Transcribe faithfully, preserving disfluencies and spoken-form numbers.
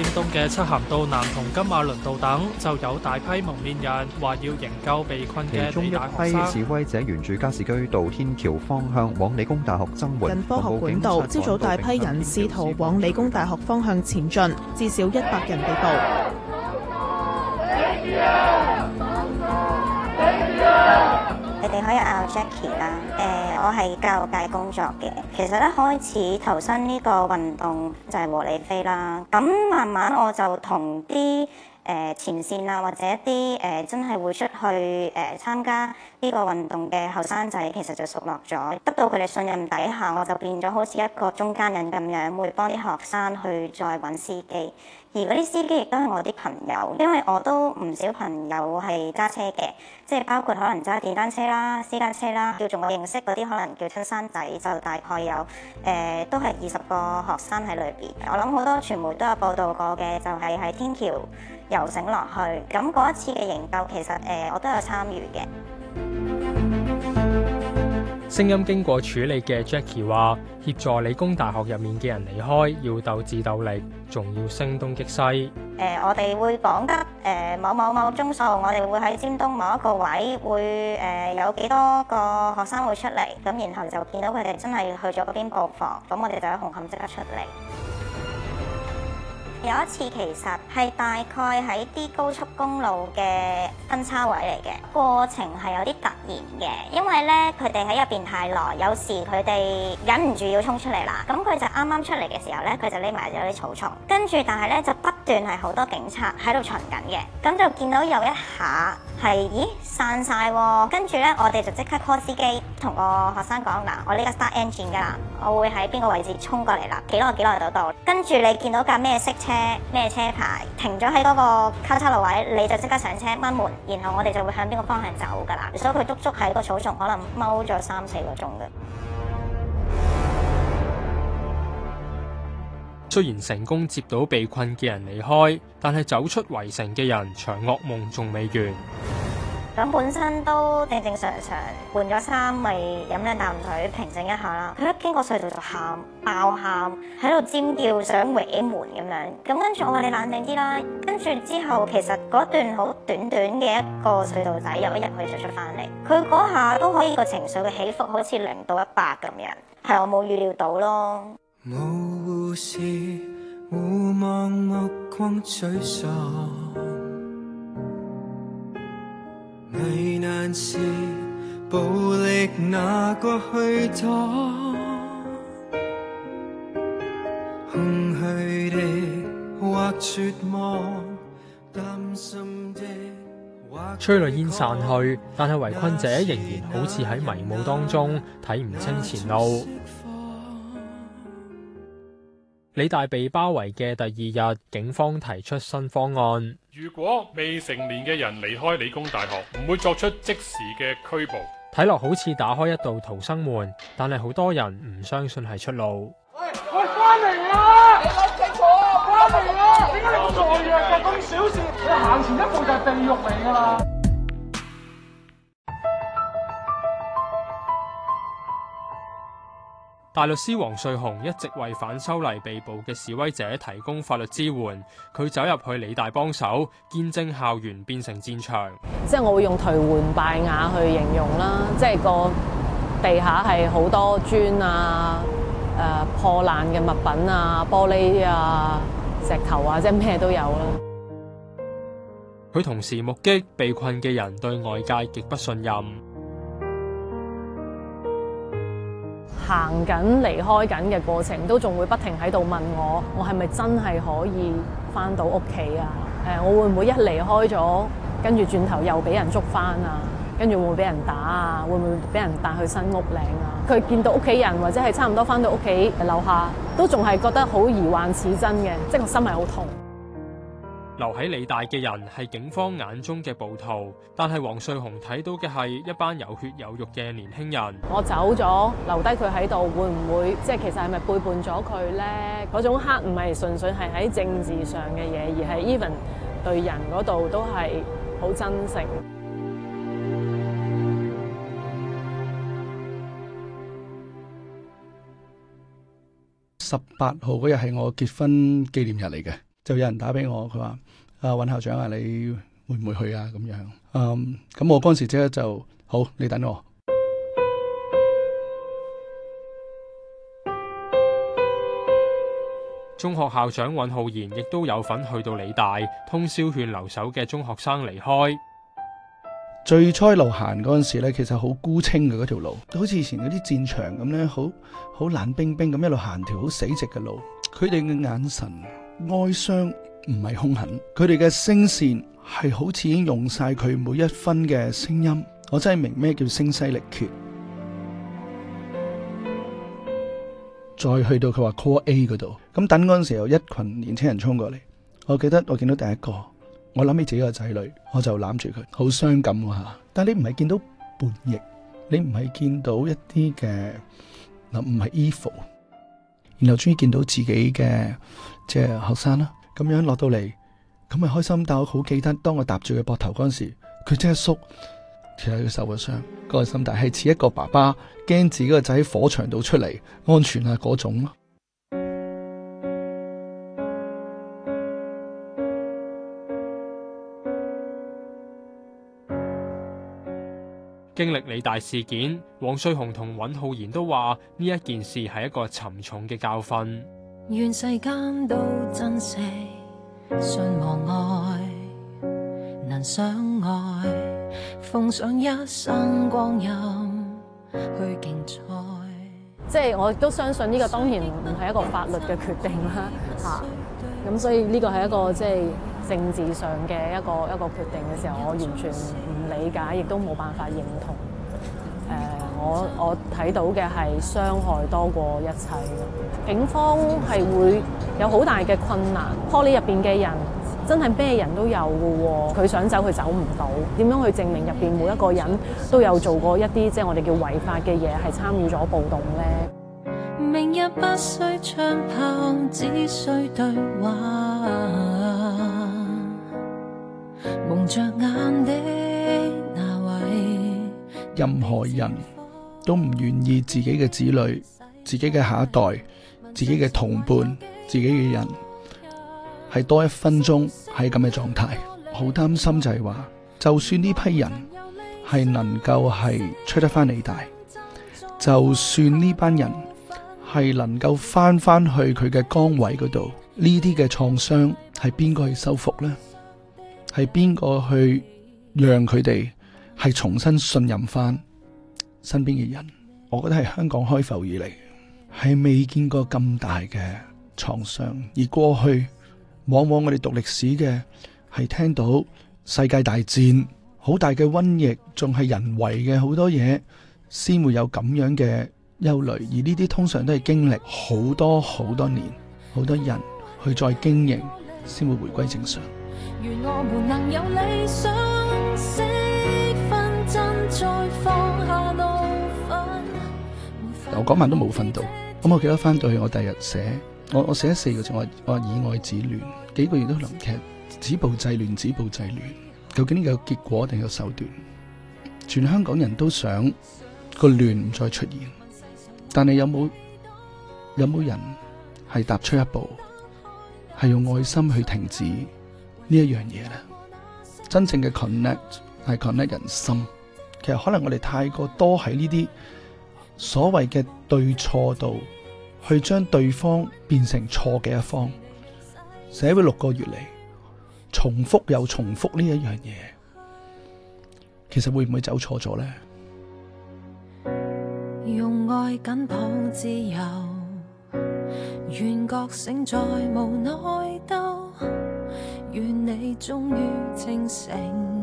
尖東嘅漆咸道南同金馬倫道等，就有大批蒙面人話要營救被困嘅其中一理大學生。 批示威者沿住加士居道天橋方向往理工大學增援。 近科學館道，朝早大批人試圖往理工大學方向前進，至少一百人被捕。 你哋可以嗌我 Jackie 啦，誒，我係教育界工作嘅。其實咧開始投身呢個運動就係和理非啦，咁慢慢我就同啲誒前線啊，或者一啲誒真係會出去誒參加呢個運動嘅後生仔，其實就熟絡咗，得到佢哋信任底下，我就變咗好似一個中間人咁樣，會幫啲學生去再揾司機。而嗰啲司機亦都係我啲朋友，因為我都唔少朋友係揸車嘅，即係包括可能揸電單車啦、私家車啦，叫做我認識嗰啲可能叫親生仔，就大概有誒、呃、都係二十個學生喺裏邊。我諗好多傳媒都有報道過嘅，就係喺天橋游繩落去。咁嗰一次嘅營救，其實誒、呃、我都有參與嘅。 聲音經過處理嘅 Jackie 話：協助理工大學入面嘅人離開，要鬥智鬥力，仲要聲東擊西。誒、 呃，我哋會講得誒、呃、某某某鐘數，我哋會喺尖東某一個位會誒、呃、有幾多個學生會出嚟，咁然後就見到佢哋真係去咗嗰邊布防，咁我哋就喺紅磡即刻出嚟。有一次其實係大概喺啲高速公路嘅分叉位嚟嘅，過程係有啲突然嘅，因為咧佢哋喺入邊太耐，有時佢哋忍唔住要衝出嚟啦。咁佢就啱啱出嚟嘅時候咧，佢就匿埋咗啲草叢，跟住但係咧就不斷係好多警察喺度巡緊嘅，咁就見到有一下係咦散晒喎，跟住咧我哋就即刻 call 司機同個學生講嗱，我呢個 start engine 㗎啦，我會喺邊個位置衝過嚟啦，幾耐幾耐就到。跟住你見到架咩色車咩車牌停咗喺嗰個交叉路位，你就即刻上車掹門，然後我哋就會向邊個方向走㗎啦。所以佢足足喺個草叢可能踎咗三四個鐘嘅。 雖然成功接到被困嘅人離開，但係走出圍城嘅人場噩夢仲未完。 咁本身都正正常常換咗衫，咪飲兩啖水平靜一下啦。佢一經過隧道就喊爆喊，喺度尖叫想搲門咁樣。咁跟住我話你冷靜啲啦。跟住之後其實嗰段好短短嘅一個隧道仔，有一日佢就出翻嚟。佢嗰下都可以個情緒嘅起伏好似零到一百咁樣，係我冇預料到咯。 無護士互望目光沮喪，危難時暴力拿過去擋，空虛的或絕望，擔心的或催淚煙散去，但係圍困者仍然好似喺迷霧當中睇唔清前路。理大被包圍嘅第二日，警方提出新方案。 如果未成年嘅人離開理工大學，唔會作出即時嘅拘捕。 睇落好似打開一道逃生門，但係好多人唔相信係出路。 喂喂，翻嚟啊！你諗清楚啊！翻嚟啊！點解你咁懦弱嘅？咁小事，你行前一步就係地獄嚟㗎啦！ 大律師黃瑞雄一直為反修例被捕嘅示威者提供法律支援，佢走入去理大幫手，見證校園變成戰場。 即係我會用頹垣敗瓦去形容啦，即係個地下係好多磚啊、誒、呃、破爛嘅物品啊、玻璃啊、石頭啊，即係咩都有啦。 佢同時目擊被困嘅人對外界極不信任。 行緊離開緊嘅過程，都仲會不停喺度問我，我係咪真係可以返到屋企啊？誒，我會唔會一離開咗，跟住轉頭又俾人捉返啊？跟住會唔會俾人打啊？會唔會俾人帶去新屋嶺啊？佢見到屋企人或者係差唔多返到屋企樓下，都仲係覺得好疑幻似真嘅，即係個心係好痛。 留喺理大嘅人係警方眼中嘅暴徒，但係黃瑞雄睇到嘅係一班有血有肉嘅年輕人。 我走咗，留低佢喺度，會唔會即係其實係咪背叛咗佢呢？嗰種黑唔係純粹係喺政治上嘅嘢，而係 even 對人嗰度都係好真誠。 十八號嗰日係我結婚紀念日嚟嘅。 就有人打俾我，佢話：啊，尹校長啊，你會唔會去啊？咁樣，嗯，咁我嗰陣時即刻就好，你等我。 中學校長尹浩然亦都有份去到理大，通宵勸留守嘅中學生離開。 最初路行嗰陣時咧，其實好孤清嘅嗰條路，好似以前嗰啲戰場咁咧，好好冷冰冰咁一路行條好死寂嘅路。佢哋嘅眼神哀傷，唔係兇狠，佢哋嘅聲線係好似已經用晒佢每一分嘅聲音。我真係明咩叫聲嘶力竭。再去到佢話 Call A 嗰度，咁等嗰陣時候有一群年青人衝過嚟，我記得我見到第一個，我諗起自己個仔女，我就攬住佢，好傷感喎嚇。但係你唔係見到叛逆，你唔係見到一啲嘅嗱，唔係 evil， 然後終於見到自己嘅即係學生啦，咁樣落到嚟，咁咪開心。但我好記得，當我搭住佢膊頭嗰陣時，佢即刻縮。其實佢受咗傷，嗰個心態係似一個爸爸驚自己個仔喺火場度出嚟安全啊嗰種咯。 經歷理大事件，黃穗雄同尹浩然都話呢一件事係一個沉重嘅教訓。 願世間都珍惜，信望愛，能相愛。奉上一生光陰去競賽， 即係我亦都相信呢個當然唔係一個法律嘅決定啦，嚇咁所以呢個係一個即係政治上嘅一個一個決定嘅時候，我完全唔理解，亦都冇辦法認同。誒、呃，我我睇到嘅係傷害多過一切，警方係會有好大嘅困難，Poly入邊嘅人。真係咩人都有嘅喎，佢想走佢走唔到，點樣去證明入邊每一個人都有做過一啲即係我哋叫違法嘅嘢，係參與咗暴動呢？ 明日不需槍炮，只需對話，蒙着眼的那位。 任何人都唔願意自己嘅子女、自己嘅下一代、自己嘅同伴、自己嘅人係多一分鐘喺咁嘅狀態，好擔心就係話，就算呢批人係能夠係出得翻理大，就算呢班人係能夠翻翻去佢嘅崗位嗰度，呢啲嘅創傷係邊個去修復呢？係邊個去讓佢哋係重新信任翻身邊嘅人？我覺得係香港開埠以嚟係未見過咁大嘅創傷，而過去往往我哋讀歷史嘅係聽到世界大戰好大嘅瘟疫，仲係人為嘅好多嘢，先會有咁樣嘅憂慮。而呢啲通常都係經歷好多好多年，好多人去再經營，先會回歸正常。 願我們能有理想，識分真再放下怒憤。 我嗰晚都冇瞓到，咁我記得翻到去我第日寫。我我寫咗四個字，我我以愛止亂，幾個月都能劇止暴制亂，止暴制亂。究竟呢個有結果定有手段？全香港人都想個亂唔再出現，但係有冇有冇人係踏出一步，係用愛心去停止呢一樣嘢咧？真正嘅 connect 係 connect 人心。其實可能我哋太過多喺呢啲所謂嘅對錯度。去將對方變成錯嘅一方，社會六個月嚟重複又重複呢一樣嘢，其實會唔會走錯咗呢？ 用愛緊抱自由，願覺醒再無內鬥，願你終於清醒。